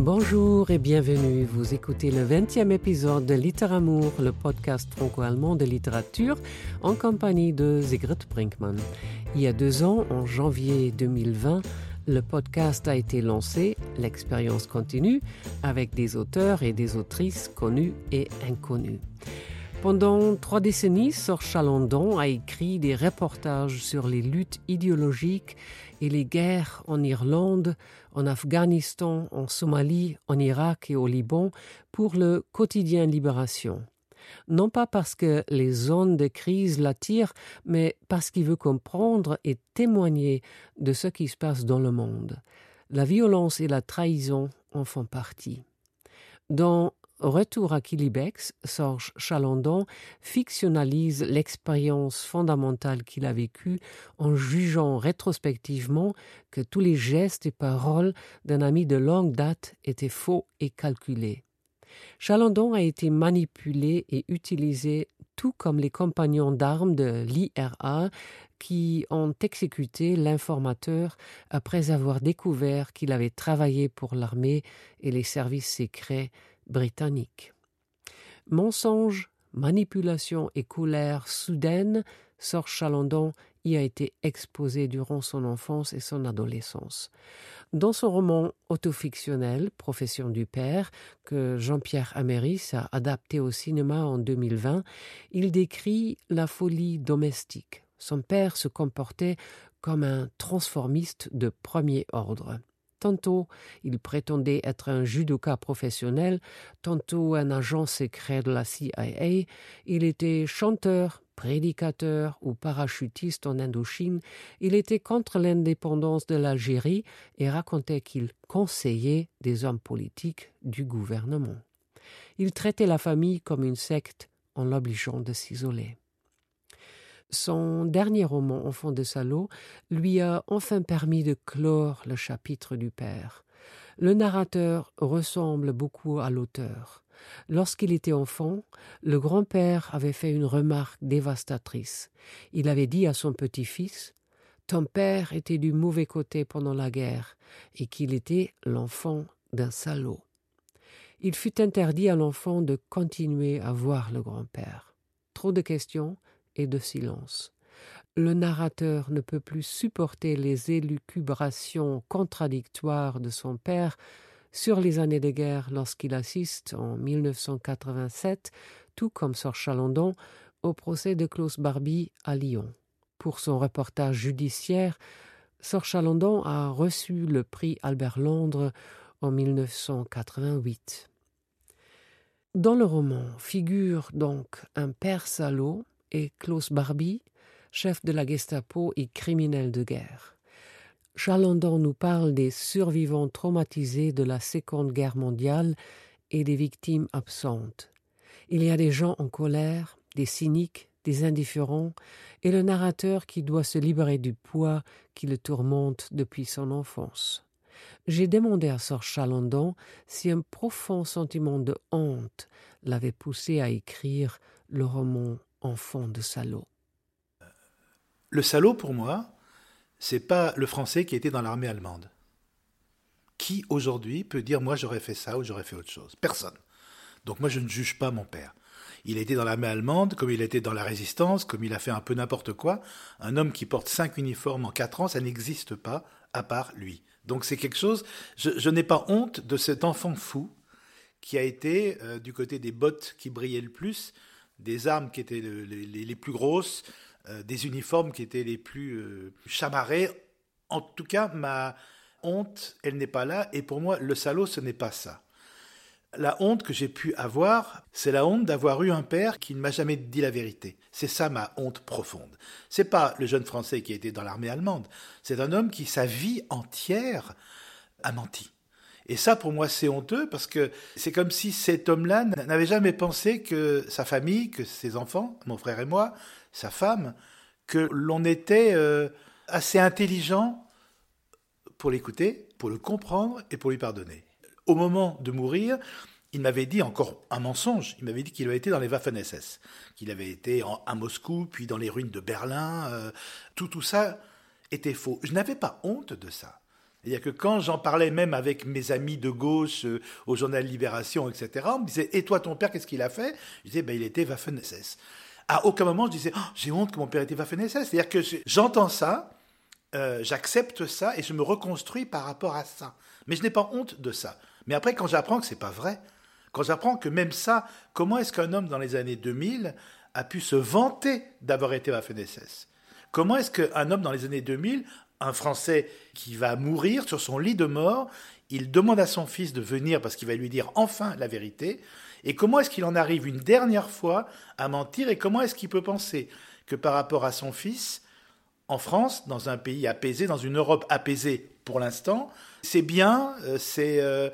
Bonjour et bienvenue. Vous écoutez le 20e épisode de Littéramour, le podcast franco-allemand de littérature, en compagnie de Sigrid Brinkmann. Il y a 2 ans, en janvier 2020, le podcast a été lancé, l'expérience continue, avec des auteurs et des autrices connus et inconnus. Pendant 3 décennies, Serge Chalandon a écrit des reportages sur les luttes idéologiques et les guerres en Irlande, en Afghanistan, en Somalie, en Irak et au Liban pour le quotidien Libération. Non pas parce que les zones de crise l'attirent, mais parce qu'il veut comprendre et témoigner de ce qui se passe dans le monde. La violence et la trahison en font partie. Dans Retour à Quilibex, Serge Chalandon fictionnalise l'expérience fondamentale qu'il a vécue en jugeant rétrospectivement que tous les gestes et paroles d'un ami de longue date étaient faux et calculés. Chalandon a été manipulé et utilisé tout comme les compagnons d'armes de l'IRA qui ont exécuté l'informateur après avoir découvert qu'il avait travaillé pour l'armée et les services secrets britanniques. Mensonges, manipulation et colère soudaine, Serge Chalandon y a été exposé durant son enfance et son adolescence. Dans son roman autofictionnel, Profession du père, que Jean-Pierre Améris a adapté au cinéma en 2020, il décrit la folie domestique. Son père se comportait comme un transformiste de premier ordre. Tantôt, il prétendait être un judoka professionnel, tantôt un agent secret de la CIA. Il était chanteur, prédicateur ou parachutiste en Indochine. Il était contre l'indépendance de l'Algérie et racontait qu'il conseillait des hommes politiques du gouvernement. Il traitait la famille comme une secte en l'obligeant de s'isoler. Son dernier roman, Enfant de salaud, lui a enfin permis de clore le chapitre du père. Le narrateur ressemble beaucoup à l'auteur. Lorsqu'il était enfant, le grand-père avait fait une remarque dévastatrice. Il avait dit à son petit-fils « Ton père était du mauvais côté pendant la guerre et qu'il était l'enfant d'un salaud. » Il fut interdit à l'enfant de continuer à voir le grand-père. Trop de questions et de silence. Le narrateur ne peut plus supporter les élucubrations contradictoires de son père sur les années de guerre lorsqu'il assiste, en 1987, tout comme Serge Chalandon, au procès de Klaus Barbie à Lyon. Pour son reportage judiciaire, Serge Chalandon a reçu le prix Albert Londres en 1988. Dans le roman figure donc un père salaud et Klaus Barbie, chef de la Gestapo et criminel de guerre. Chalandon nous parle des survivants traumatisés de la Seconde Guerre mondiale et des victimes absentes. Il y a des gens en colère, des cyniques, des indifférents, et le narrateur qui doit se libérer du poids qui le tourmente depuis son enfance. J'ai demandé à Serge Chalandon si un profond sentiment de honte l'avait poussé à écrire le roman Enfant de salaud. Le salaud, pour moi, c'est pas le Français qui était dans l'armée allemande. Qui, aujourd'hui, peut dire « moi, j'aurais fait ça ou j'aurais fait autre chose ?» Personne. Donc moi, je ne juge pas mon père. Il a été dans l'armée allemande, comme il a été dans la résistance, comme il a fait un peu n'importe quoi. Un homme qui porte 5 uniformes en 4 ans, ça n'existe pas, à part lui. Donc c'est quelque chose... Je n'ai pas honte de cet enfant fou qui a été du côté des bottes qui brillaient le plus, des armes qui étaient les plus grosses, des uniformes qui étaient les plus chamarrés. En tout cas, ma honte, elle n'est pas là. Et pour moi, le salaud, ce n'est pas ça. La honte que j'ai pu avoir, c'est la honte d'avoir eu un père qui ne m'a jamais dit la vérité. C'est ça ma honte profonde. C'est pas le jeune Français qui a été dans l'armée allemande. C'est un homme qui, sa vie entière, a menti. Et ça, pour moi, c'est honteux parce que c'est comme si cet homme-là n'avait jamais pensé que sa famille, que ses enfants, mon frère et moi, sa femme, que l'on était assez intelligent pour l'écouter, pour le comprendre et pour lui pardonner. Au moment de mourir, il m'avait dit encore un mensonge. Il m'avait dit qu'il avait été dans les Waffen-SS, qu'il avait été à Moscou, puis dans les ruines de Berlin. Tout ça était faux. Je n'avais pas honte de ça. C'est-à-dire que quand j'en parlais même avec mes amis de gauche, au journal Libération, etc., on me disait « Et toi, ton père, qu'est-ce qu'il a fait ?» Je disais « Il était Waffen-SS ». À aucun moment, je disais « J'ai honte que mon père était Waffen-SS ». C'est-à-dire que j'entends ça, j'accepte ça et je me reconstruis par rapport à ça. Mais je n'ai pas honte de ça. Mais après, quand j'apprends que c'est pas vrai, quand j'apprends que même ça, comment est-ce qu'un homme dans les années 2000 a pu se vanter d'avoir été Waffen-SS ? Comment est-ce qu'un homme dans les années 2000, un Français qui va mourir sur son lit de mort, il demande à son fils de venir parce qu'il va lui dire enfin la vérité, et comment est-ce qu'il en arrive une dernière fois à mentir, et comment est-ce qu'il peut penser que par rapport à son fils, en France, dans un pays apaisé, dans une Europe apaisée pour l'instant, c'est bien, c'est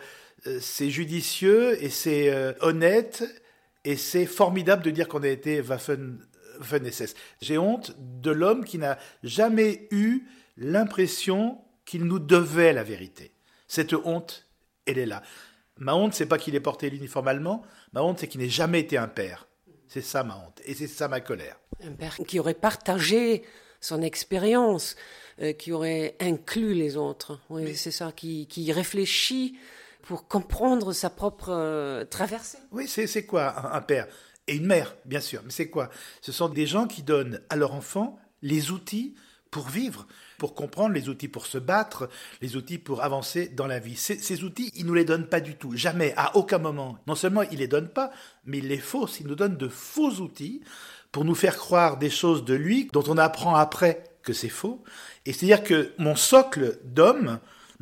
judicieux et c'est honnête et c'est formidable de dire qu'on a été Waffen-SS. J'ai honte de l'homme qui n'a jamais eu l'impression qu'il nous devait la vérité. Cette honte, elle est là. Ma honte, c'est pas qu'il ait porté l'uniforme allemand, ma honte, c'est qu'il n'ait jamais été un père. C'est ça ma honte, et c'est ça ma colère. Un père qui aurait partagé son expérience, qui aurait inclus les autres. Oui, mais c'est ça, qui réfléchit pour comprendre sa propre traversée. Oui, c'est quoi un père ? Et une mère, bien sûr. Mais c'est quoi ? Ce sont des gens qui donnent à leur enfant les outils pour vivre, pour comprendre, les outils pour se battre, les outils pour avancer dans la vie. Ces outils, ils ne nous les donnent pas du tout, jamais, à aucun moment. Non seulement ils ne les donnent pas, mais ils les faussent. Ils nous donnent de faux outils pour nous faire croire des choses de lui dont on apprend après que c'est faux. Et c'est-à-dire que mon socle d'homme,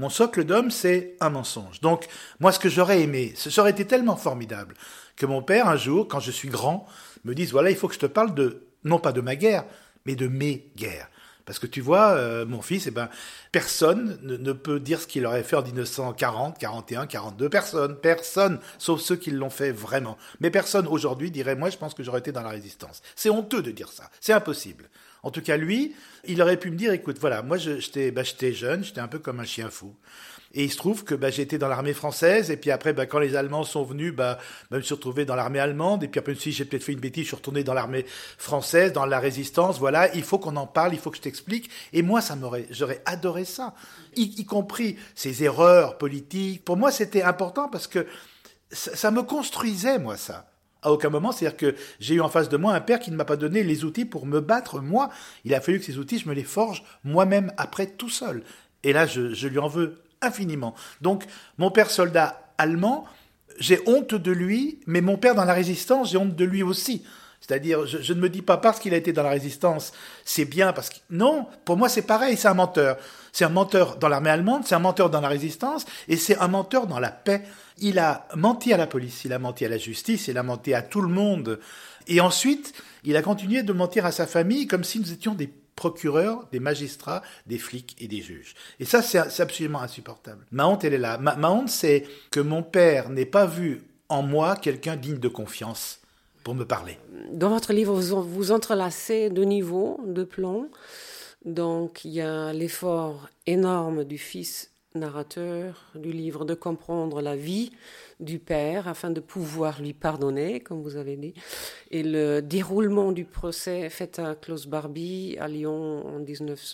c'est un mensonge. Donc, moi, ce que j'aurais aimé, ça aurait été tellement formidable que mon père, un jour, quand je suis grand, me dise, voilà, il faut que je te parle non pas de ma guerre, mais de mes guerres. Parce que tu vois, mon fils, personne ne peut dire ce qu'il aurait fait en 1940, 41, 42. Personne, sauf ceux qui l'ont fait vraiment. Mais personne aujourd'hui dirait, moi, je pense que j'aurais été dans la résistance. C'est honteux de dire ça. C'est impossible. En tout cas, lui, il aurait pu me dire, écoute, voilà, moi, j'étais jeune, j'étais un peu comme un chien fou. Et il se trouve que j'ai été dans l'armée française, et puis après, quand les Allemands sont venus, je me suis retrouvé dans l'armée allemande, et puis après, si j'ai peut-être fait une bêtise, je suis retourné dans l'armée française, dans la résistance, voilà, il faut qu'on en parle, il faut que je t'explique. Et moi, j'aurais adoré ça, y compris ces erreurs politiques. Pour moi, c'était important parce que ça me construisait, moi, ça. À aucun moment, c'est-à-dire que j'ai eu en face de moi un père qui ne m'a pas donné les outils pour me battre, moi. Il a fallu que ces outils, je me les forge moi-même après, tout seul. Et là, je lui en veux infiniment. Donc, mon père soldat allemand, j'ai honte de lui, mais mon père dans la résistance, j'ai honte de lui aussi. C'est-à-dire, je ne me dis pas parce qu'il a été dans la résistance, c'est bien parce que... Non, pour moi, c'est pareil, c'est un menteur. C'est un menteur dans l'armée allemande, c'est un menteur dans la résistance, et c'est un menteur dans la paix. Il a menti à la police, il a menti à la justice, il a menti à tout le monde. Et ensuite, il a continué de mentir à sa famille comme si nous étions des procureurs, des magistrats, des flics et des juges. Et ça, c'est absolument insupportable. Ma honte, elle est là. Ma honte, c'est que mon père n'ait pas vu en moi quelqu'un digne de confiance pour me parler. Dans votre livre, vous entrelacez deux niveaux, deux plans. Donc, il y a l'effort énorme du fils narrateur du livre de comprendre la vie du père afin de pouvoir lui pardonner, comme vous avez dit, et le déroulement du procès fait à Klaus Barbie à Lyon en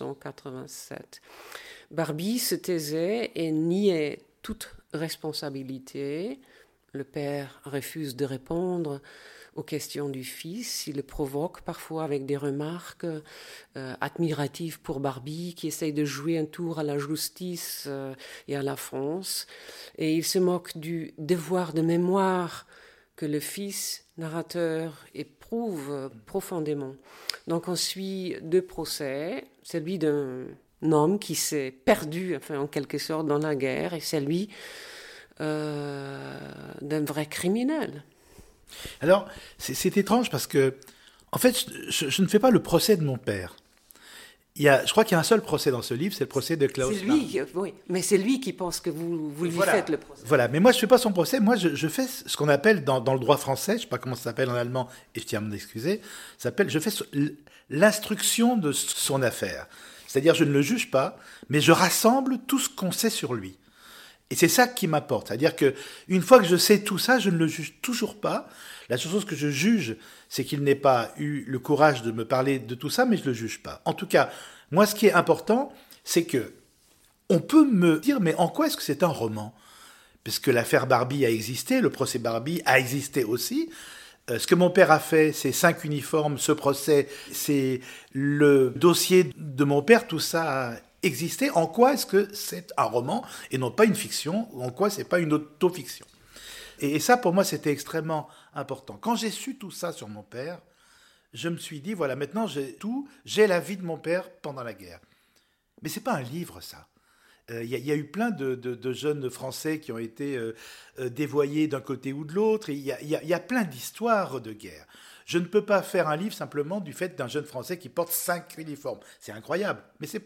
1987. Barbie se taisait et niait toute responsabilité. Le père refuse de répondre aux questions du fils. Il le provoque parfois avec des remarques admiratives pour Barbie, qui essaye de jouer un tour à la justice et à la France. Et il se moque du devoir de mémoire que le fils narrateur éprouve profondément. Donc on suit deux procès, celui d'un homme qui s'est perdu, en quelque sorte, dans la guerre, et celui d'un vrai criminel. Alors, c'est étrange parce que, en fait, je ne fais pas le procès de mon père. Je crois qu'il y a un seul procès dans ce livre, c'est le procès de Klaus Barbie. Oui, mais c'est lui qui pense que vous lui faites le procès. Voilà, mais moi je ne fais pas son procès, moi je fais ce qu'on appelle dans le droit français, je ne sais pas comment ça s'appelle en allemand, et je tiens à m'en excuser, je fais l'instruction de son affaire. C'est-à-dire, je ne le juge pas, mais je rassemble tout ce qu'on sait sur lui. Et c'est ça qui m'apporte. C'est-à-dire qu'une fois que je sais tout ça, je ne le juge toujours pas. La seule chose que je juge, c'est qu'il n'ait pas eu le courage de me parler de tout ça, mais je ne le juge pas. En tout cas, moi, ce qui est important, c'est que on peut me dire, mais en quoi est-ce que c'est un roman ? Parce que l'affaire Barbie a existé, le procès Barbie a existé aussi. Ce que mon père a fait, c'est 5 uniformes, ce procès, c'est le dossier de mon père, tout ça a existé. En quoi est-ce que c'est un roman et non pas une fiction ? En quoi c'est pas une autofiction ? Et ça, pour moi, c'était extrêmement important. Quand j'ai su tout ça sur mon père, je me suis dit, voilà, maintenant j'ai la vie de mon père pendant la guerre. Mais c'est pas un livre, ça. Il y a eu plein de jeunes Français qui ont été dévoyés d'un côté ou de l'autre. Il y a plein d'histoires de guerre. Je ne peux pas faire un livre simplement du fait d'un jeune Français qui porte 5 uniformes. C'est incroyable, mais c'est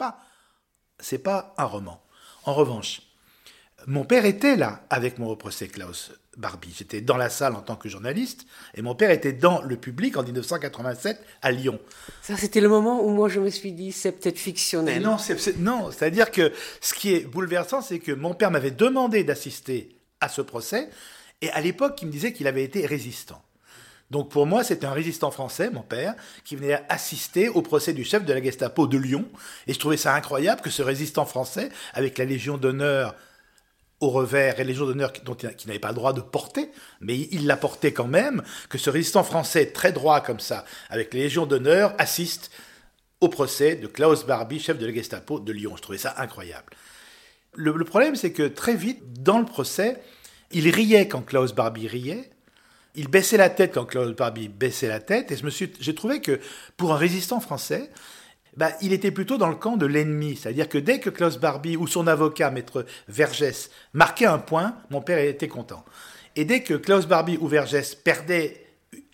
pas un roman. En revanche, mon père était là avec mon procès Klaus Barbie. J'étais dans la salle en tant que journaliste et mon père était dans le public en 1987 à Lyon. Ça, c'était le moment où moi je me suis dit, c'est peut-être fictionnel. Et non, c'est-à-dire que ce qui est bouleversant, c'est que mon père m'avait demandé d'assister à ce procès et à l'époque, il me disait qu'il avait été résistant. Donc pour moi, c'était un résistant français, mon père, qui venait assister au procès du chef de la Gestapo de Lyon. Et je trouvais ça incroyable que ce résistant français, avec la Légion d'honneur au revers et Légion d'honneur qu'il n'avait pas le droit de porter, mais il la portait quand même, que ce résistant français très droit comme ça, avec la Légion d'honneur, assiste au procès de Klaus Barbie, chef de la Gestapo de Lyon. Je trouvais ça incroyable. Le problème, c'est que très vite, dans le procès, il riait quand Klaus Barbie riait, il baissait la tête quand Klaus Barbie baissait la tête, et j'ai trouvé que pour un résistant français, il était plutôt dans le camp de l'ennemi. C'est-à-dire que dès que Klaus Barbie ou son avocat, maître Vergès, marquait un point, mon père était content. Et dès que Klaus Barbie ou Vergès perdait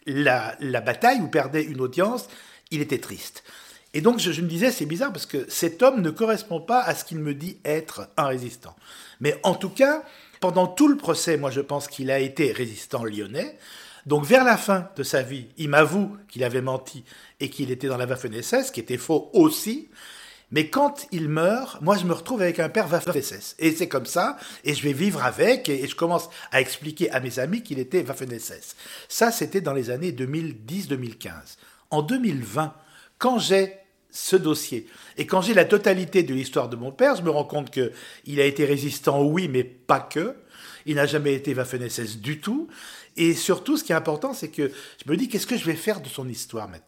la bataille ou perdait une audience, il était triste. Et donc je me disais, c'est bizarre parce que cet homme ne correspond pas à ce qu'il me dit être un résistant. Mais en tout cas, pendant tout le procès, moi je pense qu'il a été résistant lyonnais. Donc vers la fin de sa vie, il m'avoue qu'il avait menti et qu'il était dans la Waffen-SS, qui était faux aussi. Mais quand il meurt, moi je me retrouve avec un père Waffen-SS. Et c'est comme ça, et je vais vivre avec, et je commence à expliquer à mes amis qu'il était Waffen-SS. Ça, c'était dans les années 2010-2015. En 2020, quand j'ai ce dossier, et quand j'ai la totalité de l'histoire de mon père, je me rends compte qu'il a été résistant, oui, mais pas que. Il n'a jamais été Waffen-SS du tout. Et surtout, ce qui est important, c'est que je me dis, qu'est-ce que je vais faire de son histoire maintenant ?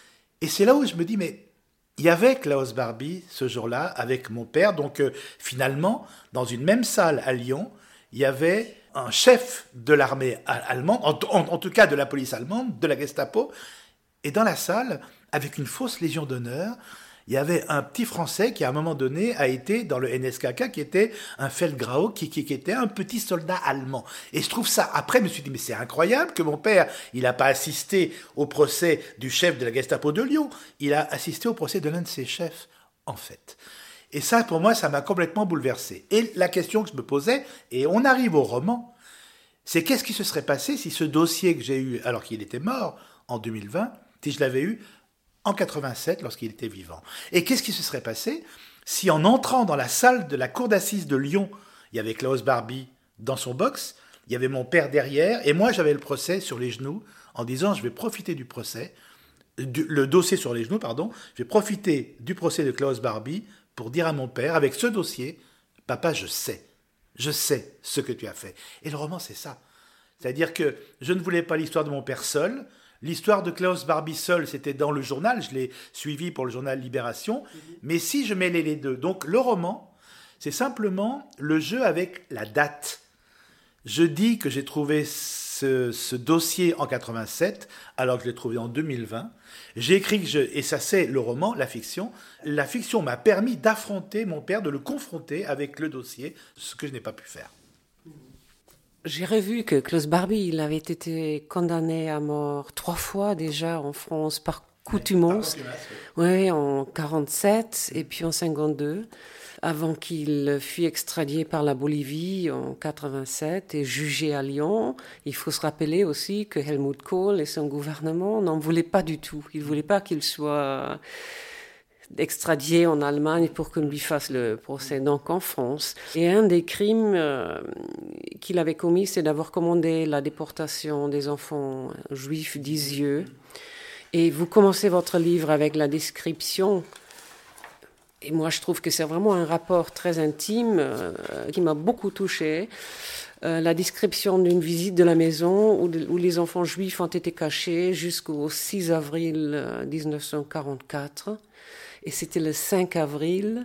Et c'est là où je me dis, mais il y avait Klaus Barbie ce jour-là avec mon père. Donc finalement, dans une même salle à Lyon, il y avait un chef de l'armée allemande, en tout cas de la police allemande, de la Gestapo. Et dans la salle, avec une fausse Légion d'honneur, il y avait un petit Français qui, à un moment donné, a été dans le NSKK, qui était un Feldgrau, qui était un petit soldat allemand. Et je trouve ça... Après, je me suis dit, mais c'est incroyable que mon père, il n'a pas assisté au procès du chef de la Gestapo de Lyon. Il a assisté au procès de l'un de ses chefs, en fait. Et ça, pour moi, ça m'a complètement bouleversé. Et la question que je me posais, et on arrive au roman, c'est qu'est-ce qui se serait passé si ce dossier que j'ai eu, alors qu'il était mort, en 2020, si je l'avais eu en 87, lorsqu'il était vivant. Et qu'est-ce qui se serait passé si, en entrant dans la salle de la cour d'assises de Lyon, il y avait Klaus Barbie dans son box, il y avait mon père derrière, et moi j'avais le procès sur les genoux, en disant je vais profiter du procès, le dossier sur les genoux, pardon, je vais profiter du procès de Klaus Barbie pour dire à mon père, avec ce dossier, papa, je sais ce que tu as fait. Et le roman, c'est ça. C'est-à-dire que je ne voulais pas l'histoire de mon père seul. L'histoire de Klaus Barbie seul, c'était dans le journal, je l'ai suivi pour le journal Libération, mais si je mêlais les deux, donc le roman, c'est simplement le jeu avec la date. Je dis que j'ai trouvé ce dossier en 87, alors que je l'ai trouvé en 2020. J'ai écrit et ça c'est le roman, la fiction. La fiction m'a permis d'affronter mon père, de le confronter avec le dossier, ce que je n'ai pas pu faire. J'ai revu que Klaus Barbie, il avait été condamné à mort 3 fois déjà en France par contumace. Oui, en 47 et puis en 52, avant qu'il fût extradé par la Bolivie en 87 et jugé à Lyon. Il faut se rappeler aussi que Helmut Kohl et son gouvernement n'en voulaient pas du tout. Ils ne voulaient pas qu'il soit extradé en Allemagne pour qu'on lui fasse le procès, donc en France. Et un des crimes qu'il avait commis, c'est d'avoir commandé la déportation des enfants juifs d'Isieux. Et vous commencez votre livre avec la description Et moi, je trouve que c'est vraiment un rapport très intime qui m'a beaucoup touchée. La description d'une visite de la maison où les enfants juifs ont été cachés jusqu'au 6 avril 1944. Et c'était le 5 avril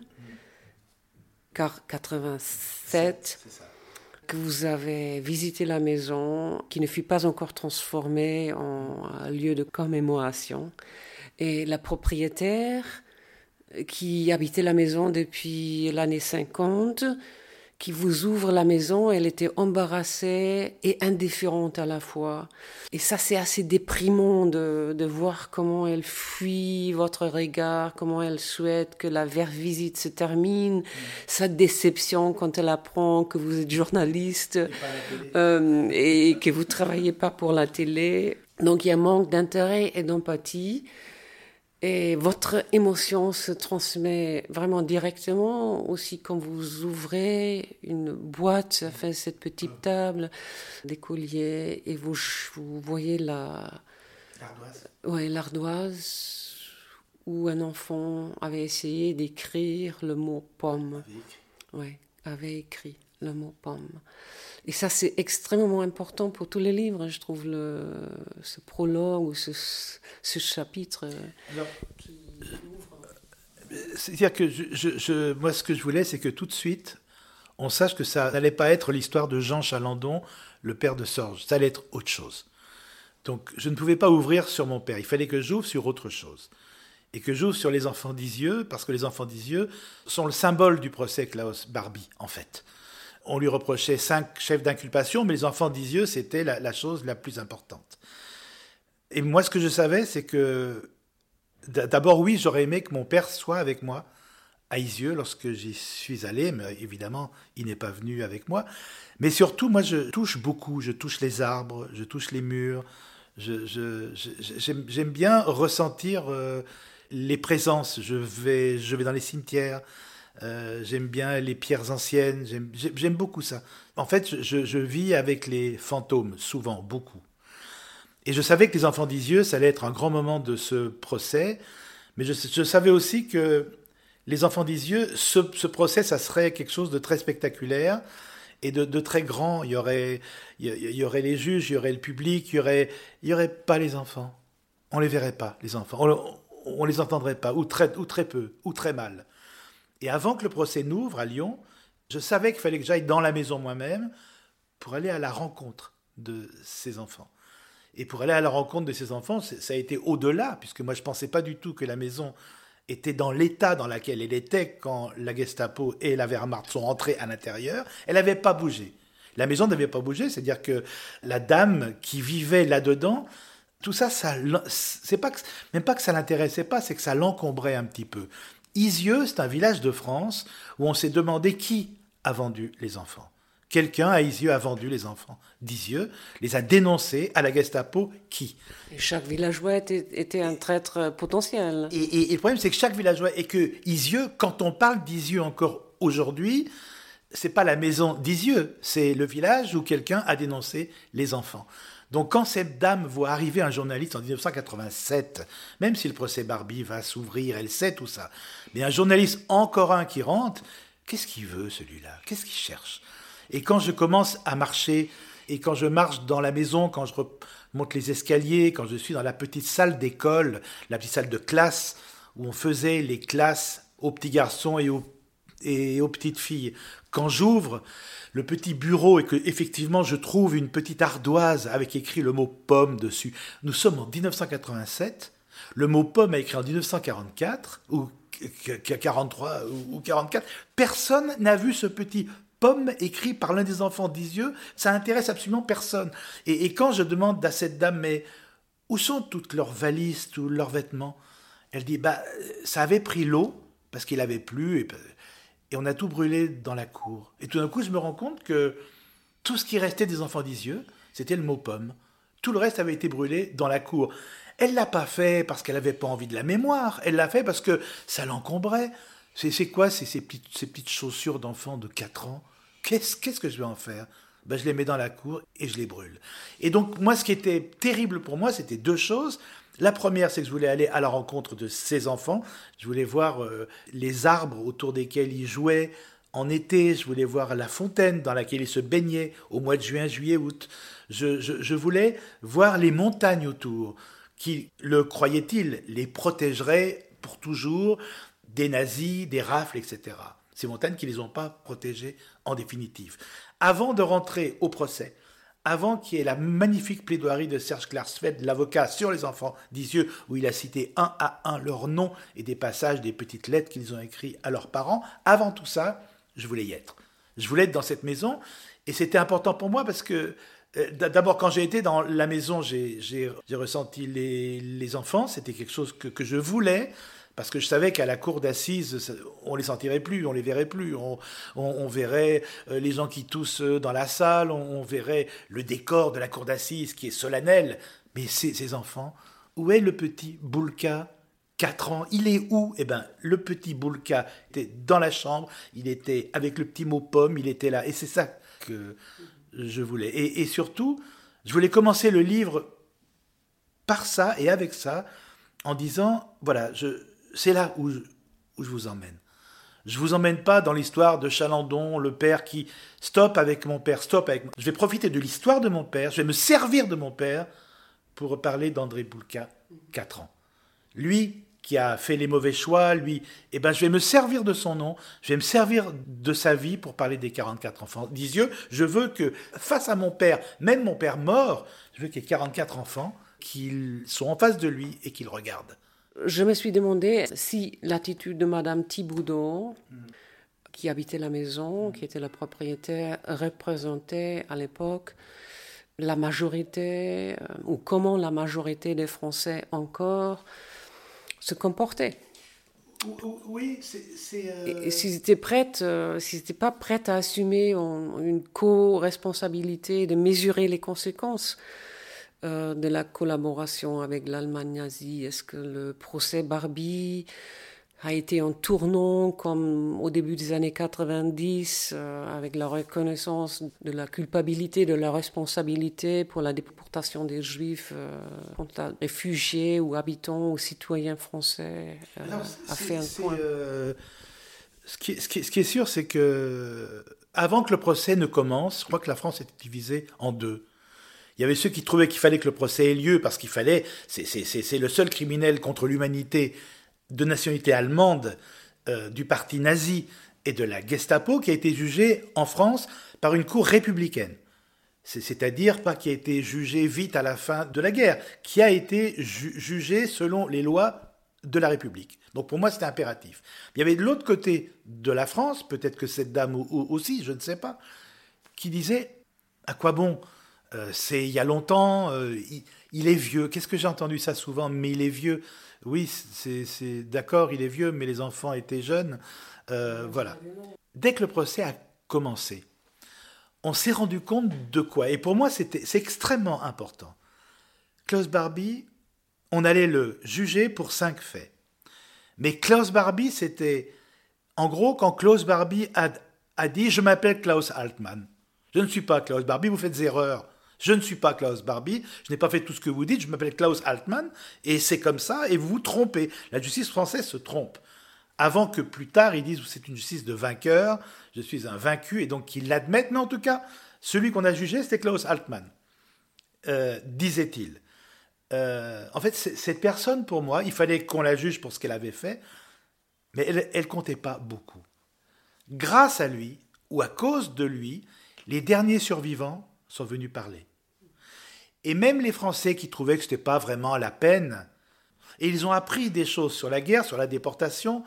87 que vous avez visité la maison, qui ne fut pas encore transformée en lieu de commémoration. Et la propriétaire qui habitait la maison depuis l'année 50, qui vous ouvre la maison, elle était embarrassée et indifférente à la fois. Et ça, c'est assez déprimant de voir comment elle fuit votre regard, comment elle souhaite que la visite se termine, sa déception quand elle apprend que vous êtes journaliste et que vous travaillez pas pour la télé. Donc il y a un manque d'intérêt et d'empathie. Et votre émotion se transmet vraiment directement aussi quand vous ouvrez une boîte, enfin cette petite table, des colliers, et vous voyez l'ardoise où un enfant avait essayé d'écrire le mot pomme. Oui, avait écrit le mot pomme. Et ça, c'est extrêmement important pour tous les livres, je trouve, ce prologue ou ce chapitre. Alors, c'est-à-dire que moi, ce que je voulais, c'est que tout de suite, on sache que ça n'allait pas être l'histoire de Jean Chalandon, le père de Sorge. Ça allait être autre chose. Donc, je ne pouvais pas ouvrir sur mon père. Il fallait que j'ouvre sur autre chose. Et que j'ouvre sur les enfants d'Isieux, parce que les enfants d'Isieux sont le symbole du procès Klaus-Barbie, en fait. On lui reprochait 5 chefs d'inculpation, mais les enfants d'Isieux, c'était la chose la plus importante. Et moi, ce que je savais, c'est que, d'abord, oui, j'aurais aimé que mon père soit avec moi à Isieux lorsque j'y suis allé, mais évidemment, il n'est pas venu avec moi. Mais surtout, moi, je touche beaucoup. Je touche les arbres, je touche les murs. J'aime bien ressentir les présences. Je vais dans les cimetières. J'aime bien les pierres anciennes, j'aime beaucoup ça. En fait, je vis avec les fantômes, souvent, beaucoup. Et je savais que les enfants d'Isieux, ça allait être un grand moment de ce procès, mais je savais aussi que les enfants d'Isieux, ce procès, ça serait quelque chose de très spectaculaire et de très grand. Il y aurait les juges, il y aurait le public, il y aurait pas les enfants. On les verrait pas, les enfants. On les entendrait pas, ou très peu, ou très mal. Et avant que le procès n'ouvre à Lyon, je savais qu'il fallait que j'aille dans la maison moi-même pour aller à la rencontre de ces enfants. Et pour aller à la rencontre de ces enfants, ça a été au-delà, puisque moi je ne pensais pas du tout que la maison était dans l'état dans lequel elle était quand la Gestapo et la Wehrmacht sont entrés à l'intérieur. Elle n'avait pas bougé. La maison n'avait pas bougé, c'est-à-dire que la dame qui vivait là-dedans, tout ça, c'est pas même pas que ça l'intéressait pas, c'est que ça l'encombrait un petit peu. Isieux, c'est un village de France où on s'est demandé qui a vendu les enfants. Quelqu'un à Isieux a vendu les enfants d'Isieux, les a dénoncés à la Gestapo. Qui ? Et chaque villageois était un traître potentiel. Et le problème, c'est que chaque villageois, et que Isieux, quand on parle d'Isieux encore aujourd'hui, c'est pas la maison d'Isieux, c'est le village où quelqu'un a dénoncé les enfants. Donc quand cette dame voit arriver un journaliste en 1987, même si le procès Barbie va s'ouvrir, elle sait tout ça, mais un journaliste, encore un qui rentre, qu'est-ce qu'il veut celui-là ? Qu'est-ce qu'il cherche ? Et quand je commence à marcher, et quand je marche dans la maison, quand je remonte les escaliers, quand je suis dans la petite salle d'école, la petite salle de classe, où on faisait les classes aux petits garçons et aux petites filles, quand j'ouvre le petit bureau et que effectivement je trouve une petite ardoise avec écrit le mot pomme dessus. Nous sommes en 1987, le mot pomme est écrit en 1944 ou 43 ou 44. Personne n'a vu ce petit pomme écrit par l'un des enfants d'Isieux. Ça intéresse absolument personne. Et quand je demande à cette dame, mais où sont toutes leurs valises, tous leurs vêtements ? Elle dit, ça avait pris l'eau parce qu'il avait plu et on a tout brûlé dans la cour. Et tout d'un coup, je me rends compte que tout ce qui restait des enfants d'Isieux, c'était le mot pomme. Tout le reste avait été brûlé dans la cour. Elle ne l'a pas fait parce qu'elle n'avait pas envie de la mémoire. Elle l'a fait parce que ça l'encombrait. C'est quoi ces petites chaussures d'enfants de 4 ans ? Qu'est-ce que je vais en faire ? ben, je les mets dans la cour et je les brûle. Et donc, moi, ce qui était terrible pour moi, c'était deux choses. La première, c'est que je voulais aller à la rencontre de ces enfants. Je voulais voir les arbres autour desquels ils jouaient en été. Je voulais voir la fontaine dans laquelle ils se baignaient au mois de juin, juillet, août. Je voulais voir les montagnes autour qui, le croyaient-ils, les protégeraient pour toujours des nazis, des rafles, etc. Ces montagnes qui ne les ont pas protégés en définitive. Avant de rentrer au procès, avant qu'il y ait la magnifique plaidoirie de Serge Klarsfeld, l'avocat sur les enfants d'Isieux, où il a cité un à un leurs noms et des passages des petites lettres qu'ils ont écrites à leurs parents, avant tout ça, je voulais y être. Je voulais être dans cette maison, et c'était important pour moi parce que, d'abord, quand j'ai été dans la maison, j'ai ressenti les enfants, c'était quelque chose que je voulais, parce que je savais qu'à la cour d'assises, on les sentirait plus, on les verrait plus. On verrait les gens qui toussent dans la salle, on verrait le décor de la cour d'assises qui est solennel. Mais ces enfants, où est le petit Boulka, 4 ans, il est où? Eh bien, le petit Boulka était dans la chambre, il était avec le petit mot pomme, il était là. Et c'est ça que je voulais. Et surtout, je voulais commencer le livre par ça et avec ça, en disant, voilà, c'est là où je vous emmène. Je vous emmène pas dans l'histoire de Chalandon, le père qui stop avec mon père, stop avec moi. Je vais profiter de l'histoire de mon père, je vais me servir de mon père pour parler d'André Boulka, 4 ans. Lui qui a fait les mauvais choix, lui, eh ben je vais me servir de son nom, je vais me servir de sa vie pour parler des 44 enfants d'Isieux. Je veux que, face à mon père, même mon père mort, je veux qu'il y ait 44 enfants qui sont en face de lui et qui le regardent. Je me suis demandé si l'attitude de Madame Thiboudot, qui habitait la maison, qui était la propriétaire, représentait à l'époque la majorité, ou comment la majorité des Français encore se comportaient. Oui, c'est... Et s'ils étaient s'ils n'étaient pas prêts à assumer une co-responsabilité, de mesurer les conséquences de la collaboration avec l'Allemagne nazie. Est-ce que le procès Barbie a été un tournant comme au début des années 90 avec la reconnaissance de la culpabilité, de la responsabilité pour la déportation des Juifs contre réfugiés ou habitants ou citoyens français a fait un point. Ce qui est sûr, c'est que avant que le procès ne commence, je crois que la France était divisée en deux. Il y avait ceux qui trouvaient qu'il fallait que le procès ait lieu parce qu'il fallait, c'est le seul criminel contre l'humanité de nationalité allemande du parti nazi et de la Gestapo qui a été jugé en France par une cour républicaine. C'est-à-dire pas qui a été jugé vite à la fin de la guerre, qui a été jugé selon les lois de la République. Donc pour moi c'était impératif. Il y avait de l'autre côté de la France, peut-être que cette dame aussi, je ne sais pas, qui disait à quoi bon? C'est il y a longtemps, il est vieux. Qu'est-ce que j'ai entendu ça souvent? Mais il est vieux. Oui, c'est d'accord, il est vieux, mais les enfants étaient jeunes. Voilà. Dès que le procès a commencé, on s'est rendu compte de quoi? Et pour moi, c'est extrêmement important. Klaus Barbie, on allait le juger pour 5 faits. Mais Klaus Barbie, c'était... En gros, quand Klaus Barbie a dit « Je m'appelle Klaus Altmann. Je ne suis pas Klaus Barbie, vous faites erreur. Je ne suis pas Klaus Barbie, je n'ai pas fait tout ce que vous dites, je m'appelle Klaus Altmann, et c'est comme ça, et vous vous trompez. » La justice française se trompe. Avant que plus tard, ils disent « C'est une justice de vainqueur, je suis un vaincu », et donc qu'ils l'admettent. Mais en tout cas, celui qu'on a jugé, c'était Klaus Altmann, disait-il. En fait, cette personne, pour moi, il fallait qu'on la juge pour ce qu'elle avait fait, mais elle comptait pas beaucoup. Grâce à lui, ou à cause de lui, les derniers survivants sont venus parler. Et même les Français qui trouvaient que ce n'était pas vraiment la peine, et ils ont appris des choses sur la guerre, sur la déportation,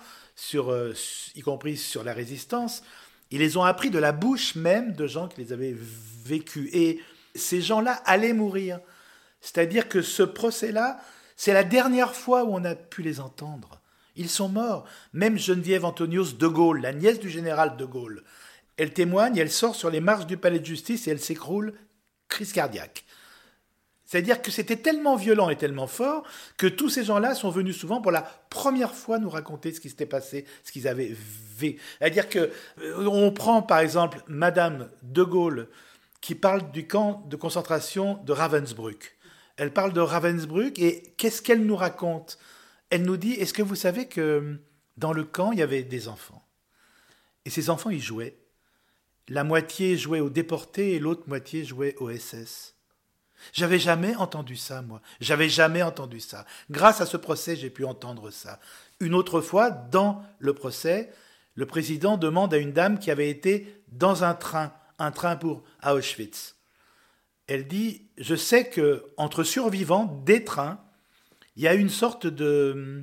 y compris sur la résistance, ils les ont appris de la bouche même de gens qui les avaient vécus. Et ces gens-là allaient mourir. C'est-à-dire que ce procès-là, c'est la dernière fois où on a pu les entendre. Ils sont morts. Même Geneviève Antonius de Gaulle, la nièce du général de Gaulle, elle témoigne, elle sort sur les marches du palais de justice et elle s'écroule, crise cardiaque. C'est-à-dire que c'était tellement violent et tellement fort que tous ces gens-là sont venus souvent pour la première fois nous raconter ce qui s'était passé, ce qu'ils avaient vécu. C'est-à-dire qu'on prend par exemple Madame de Gaulle, qui parle du camp de concentration de Ravensbrück. Elle parle de Ravensbrück et qu'est-ce qu'elle nous raconte ? Elle nous dit, est-ce que vous savez que dans le camp, il y avait des enfants ? Et ces enfants, ils jouaient. La moitié jouait aux déportés et l'autre moitié jouait aux SS. J'avais jamais entendu ça, moi. J'avais jamais entendu ça. Grâce à ce procès, j'ai pu entendre ça. Une autre fois, dans le procès, le président demande à une dame qui avait été dans un train pour à Auschwitz. Elle dit, je sais qu'entre survivants des trains, il y a une sorte de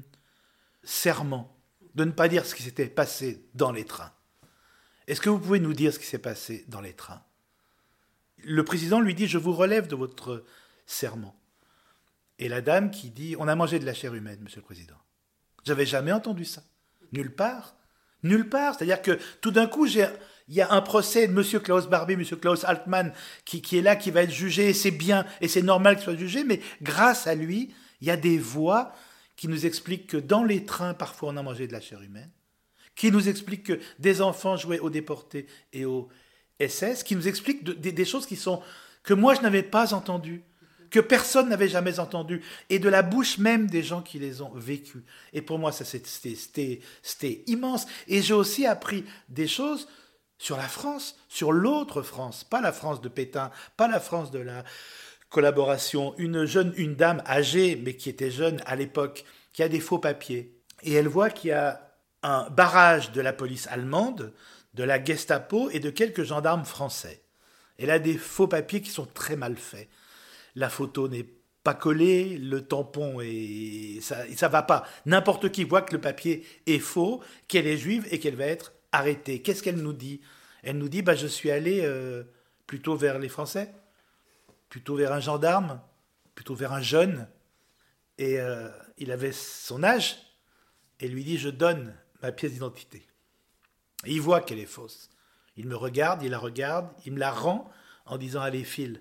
serment de ne pas dire ce qui s'était passé dans les trains. Est-ce que vous pouvez nous dire ce qui s'est passé dans les trains ? Le président lui dit, je vous relève de votre serment. Et la dame qui dit, on a mangé de la chair humaine, monsieur le président. J'avais jamais entendu ça. Nulle part. Nulle part. C'est-à-dire que tout d'un coup, il y a un procès de monsieur Klaus Barbie, monsieur Klaus Altmann, qui est là, qui va être jugé, et c'est bien, et c'est normal qu'il soit jugé, mais grâce à lui, il y a des voix qui nous expliquent que dans les trains, parfois, on a mangé de la chair humaine, qui nous expliquent que des enfants jouaient aux déportés et aux SS, qui nous expliquent des choses que moi, je n'avais pas entendues, que personne n'avait jamais entendues, et de la bouche même des gens qui les ont vécues. Et pour moi, ça, c'était immense. Et j'ai aussi appris des choses sur la France, sur l'autre France, pas la France de Pétain, pas la France de la collaboration. Une dame âgée, mais qui était jeune à l'époque, qui a des faux papiers. Et elle voit qu'il y a un barrage de la police allemande, de la Gestapo et de quelques gendarmes français. Elle a des faux papiers qui sont très mal faits. La photo n'est pas collée, le tampon ça va pas. N'importe qui voit que le papier est faux, qu'elle est juive et qu'elle va être arrêtée. Qu'est-ce qu'elle nous dit ? Elle nous dit, je suis allée plutôt vers les Français, plutôt vers un gendarme, plutôt vers un jeune. Et il avait son âge, et lui dit, je donne ma pièce d'identité. Et il voit qu'elle est fausse. Il me regarde, il la regarde, il me la rend en disant, allez, file.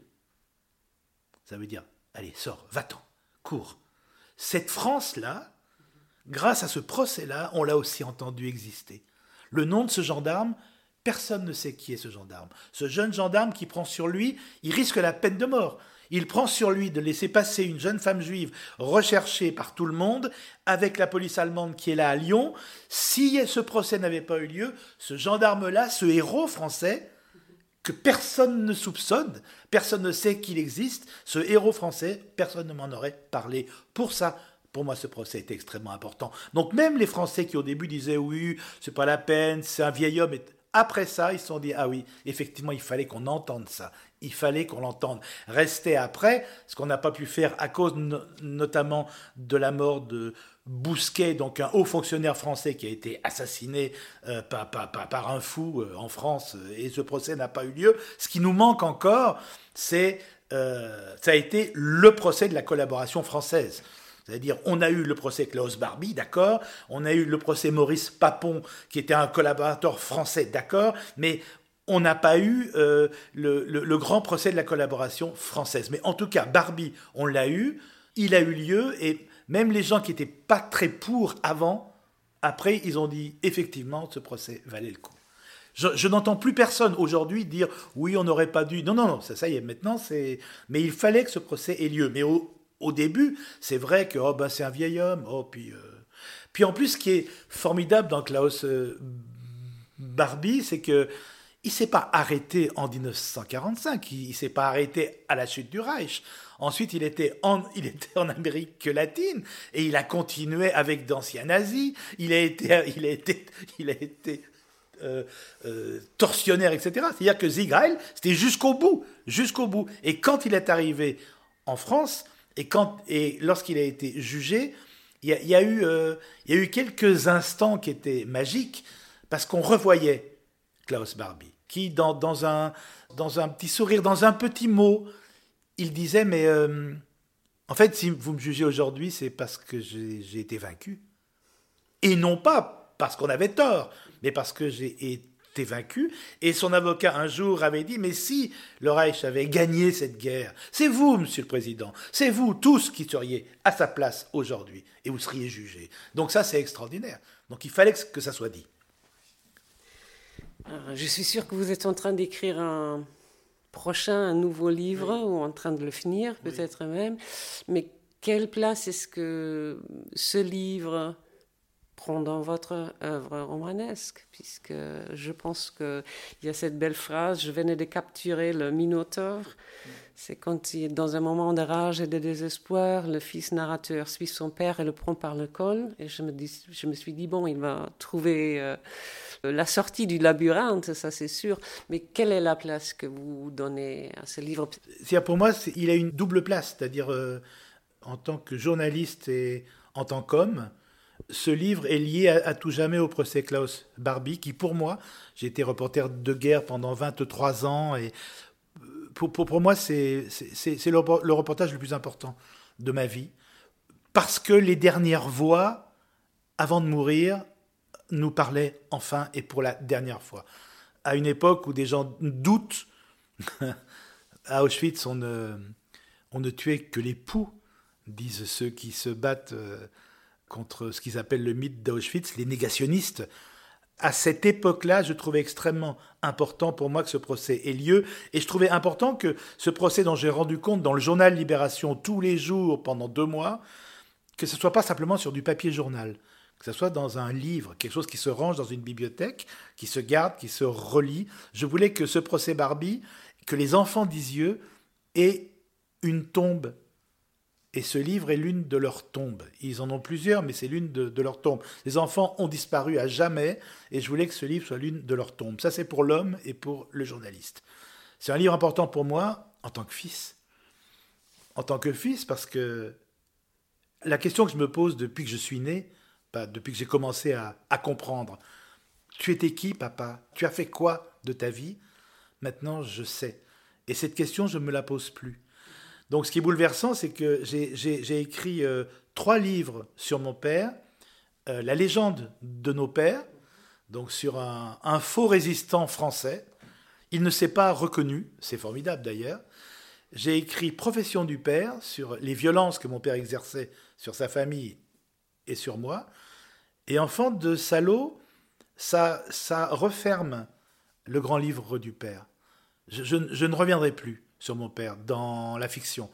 Ça veut dire, allez, sors, va-t'en, cours. Cette France-là, grâce à ce procès-là, on l'a aussi entendu exister. Le nom de ce gendarme, personne ne sait qui est ce gendarme. Ce jeune gendarme qui prend sur lui, il risque la peine de mort. Il prend sur lui de laisser passer une jeune femme juive recherchée par tout le monde, avec la police allemande qui est là à Lyon. Si ce procès n'avait pas eu lieu, ce gendarme-là, ce héros français, que personne ne soupçonne, personne ne sait qu'il existe, ce héros français, personne ne m'en aurait parlé. Pour ça, pour moi, ce procès était extrêmement important. Donc même les Français qui au début disaient « oui, c'est pas la peine, c'est un vieil homme », après ça, ils se sont dit « ah oui, effectivement, il fallait qu'on entende ça ». Il fallait qu'on l'entende. Restait après, ce qu'on n'a pas pu faire à cause notamment de la mort de Bousquet, donc un haut fonctionnaire français qui a été assassiné par un fou en France, et ce procès n'a pas eu lieu. Ce qui nous manque encore, ça a été le procès de la collaboration française. C'est-à-dire, on a eu le procès Klaus Barbie, d'accord, on a eu le procès Maurice Papon, qui était un collaborateur français, d'accord, mais on n'a pas eu le grand procès de la collaboration française. Mais en tout cas, Barbie, on l'a eu, il a eu lieu, et même les gens qui n'étaient pas très pour avant, après, ils ont dit, effectivement, ce procès valait le coup. Je n'entends plus personne aujourd'hui dire, oui, on n'aurait pas dû... Non, ça y est, maintenant, c'est... Mais il fallait que ce procès ait lieu. Mais au début, c'est vrai que c'est un vieil homme, puis en plus, ce qui est formidable dans Klaus Barbie, c'est que il ne s'est pas arrêté en 1945, il ne s'est pas arrêté à la chute du Reich. Ensuite, il était en Amérique latine et il a continué avec d'anciens nazis. Il a été tortionnaire, etc. C'est-à-dire que Sieg Heil, c'était jusqu'au bout. Et quand il est arrivé en France et lorsqu'il a été jugé, il y a eu quelques instants qui étaient magiques parce qu'on revoyait Klaus Barbie, qui, dans un petit sourire, dans un petit mot, il disait, mais en fait, si vous me jugez aujourd'hui, c'est parce que j'ai été vaincu. Et non pas parce qu'on avait tort, mais parce que j'ai été vaincu. Et son avocat, un jour, avait dit, mais si le Reich avait gagné cette guerre, c'est vous, monsieur le président, c'est vous tous qui seriez à sa place aujourd'hui, et vous seriez jugé. Donc ça, c'est extraordinaire. Donc il fallait que ça soit dit. Je suis sûre que vous êtes en train d'écrire prochain un nouveau livre ou en train de le finir peut-être même. Mais quelle place est-ce que ce livre prend dans votre œuvre romanesque? Puisque je pense qu'il y a cette belle phrase, je venais de capturer le Minotaure. C'est quand il est dans un moment de rage et de désespoir, le fils narrateur suit son père et le prend par le col. Et je me suis dit, bon, il va trouver la sortie du labyrinthe, ça c'est sûr. Mais quelle est la place que vous donnez à ce livre? Pour moi, il a une double place, c'est-à-dire en tant que journaliste et en tant qu'homme, ce livre est lié à tout jamais au procès Klaus Barbie, qui pour moi, j'ai été reporter de guerre pendant 23 ans, et pour moi, c'est le reportage le plus important de ma vie, parce que les dernières voix, avant de mourir, nous parlaient enfin et pour la dernière fois. À une époque où des gens doutent, à Auschwitz, on ne tuait que les poux, disent ceux qui se battent contre ce qu'ils appellent le mythe d'Auschwitz, les négationnistes. À cette époque-là, je trouvais extrêmement important pour moi que ce procès ait lieu, et je trouvais important que ce procès dont j'ai rendu compte dans le journal Libération tous les jours pendant 2 mois, que ce ne soit pas simplement sur du papier journal, que ce soit dans un livre, quelque chose qui se range dans une bibliothèque, qui se garde, qui se relit. Je voulais que ce procès Barbie, que les enfants d'Isieux aient une tombe. Et ce livre est l'une de leurs tombes. Ils en ont plusieurs, mais c'est l'une de leurs tombes. Les enfants ont disparu à jamais, et je voulais que ce livre soit l'une de leurs tombes. Ça, c'est pour l'homme et pour le journaliste. C'est un livre important pour moi, en tant que fils. En tant que fils, parce que la question que je me pose depuis que je suis né, depuis que j'ai commencé à comprendre, tu étais qui, papa? Tu as fait quoi de ta vie? Maintenant, je sais. Et cette question, je ne me la pose plus. Donc, ce qui est bouleversant, c'est que j'ai écrit 3 livres sur mon père, la légende de nos pères, donc sur un faux résistant français. Il ne s'est pas reconnu, c'est formidable d'ailleurs. J'ai écrit Profession du père, sur les violences que mon père exerçait sur sa famille et sur moi. Et Enfant de salaud, ça referme le grand livre du père. Je ne reviendrai plus sur mon père dans la fiction.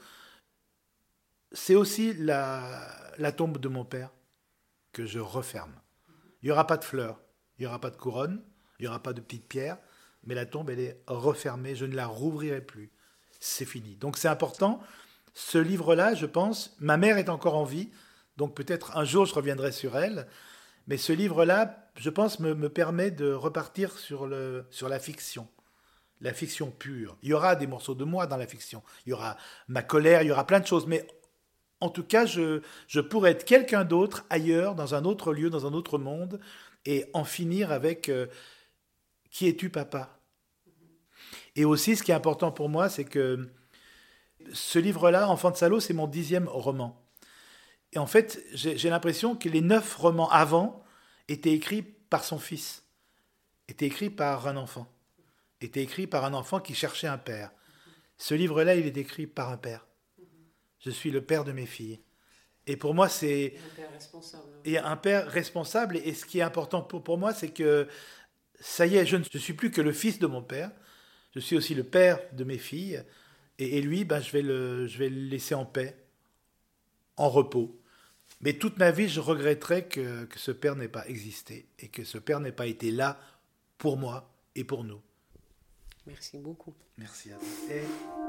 C'est aussi la tombe de mon père que je referme. Il n'y aura pas de fleurs, il n'y aura pas de couronne, il n'y aura pas de petites pierres, mais la tombe, elle est refermée, je ne la rouvrirai plus. C'est fini. Donc c'est important. Ce livre-là, je pense, ma mère est encore en vie, donc peut-être un jour je reviendrai sur elle, mais ce livre-là, je pense, me permet de repartir sur la fiction. La fiction pure. Il y aura des morceaux de moi dans la fiction. Il y aura ma colère, il y aura plein de choses. Mais en tout cas, je pourrais être quelqu'un d'autre ailleurs, dans un autre lieu, dans un autre monde, et en finir avec qui es-tu, papa? Et aussi, ce qui est important pour moi, c'est que ce livre-là, Enfant de salaud, c'est mon 10e roman. Et en fait, j'ai l'impression que les 9 romans avant étaient écrits par son fils, étaient écrits par un enfant. Était écrit par un enfant qui cherchait un père. Ce livre-là, il est écrit par un père. Je suis le père de mes filles. Et pour moi, c'est... Un père responsable. Et un père responsable. Et ce qui est important pour moi, c'est que, ça y est, je ne suis plus que le fils de mon père. Je suis aussi le père de mes filles. Et lui, je vais le laisser en paix, en repos. Mais toute ma vie, je regretterai que ce père n'ait pas existé. Et que ce père n'ait pas été là pour moi et pour nous. Merci beaucoup. Merci à vous.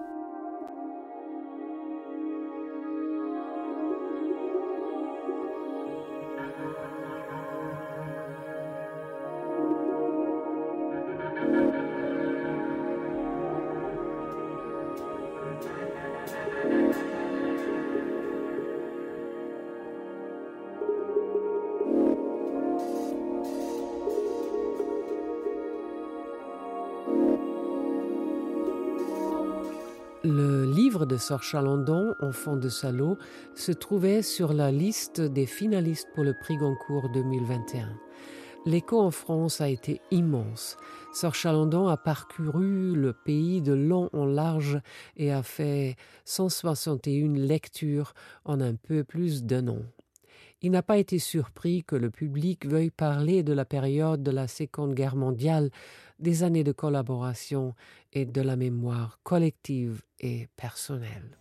Le livre de Sor Chalandon, Enfant de salaud, se trouvait sur la liste des finalistes pour le prix Goncourt 2021. L'écho en France a été immense. Sor Chalandon a parcouru le pays de long en large et a fait 161 lectures en un peu plus d'1 an. Il n'a pas été surpris que le public veuille parler de la période de la Seconde Guerre mondiale, des années de collaboration et de la mémoire collective et personnelle.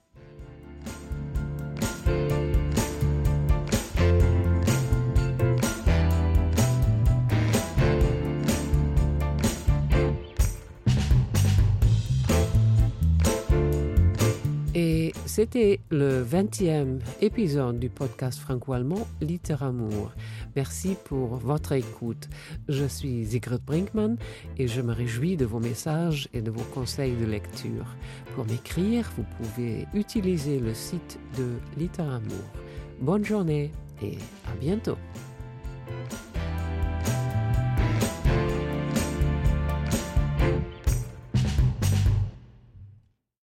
Et c'était le 20e épisode du podcast franco-allemand Literamour. Merci pour votre écoute. Je suis Sigrid Brinkmann et je me réjouis de vos messages et de vos conseils de lecture. Pour m'écrire, vous pouvez utiliser le site de Literamour. Bonne journée et à bientôt.